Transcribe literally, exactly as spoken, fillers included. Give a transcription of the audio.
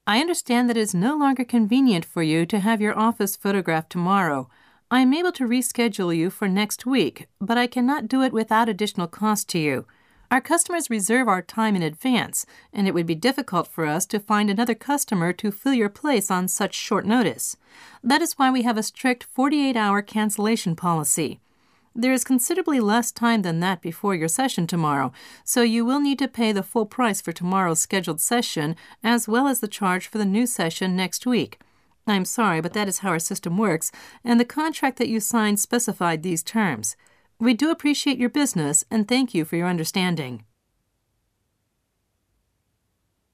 I understand that it is no longer convenient for you to have your office photographed tomorrow. I am able to reschedule you for next week, but I cannot do it without additional cost to you. Our customers reserve our time in advance, and it would be difficult for us to find another customer to fill your place on such short notice. That is why we have a strict forty-eight hour cancellation policy. There is considerably less time than that before your session tomorrow, so you will need to pay the full price for tomorrow's scheduled session as well as the charge for the new session next week. I'm sorry, but that is how our system works, and the contract that you signed specified these terms. We do appreciate your business and thank you for your understanding.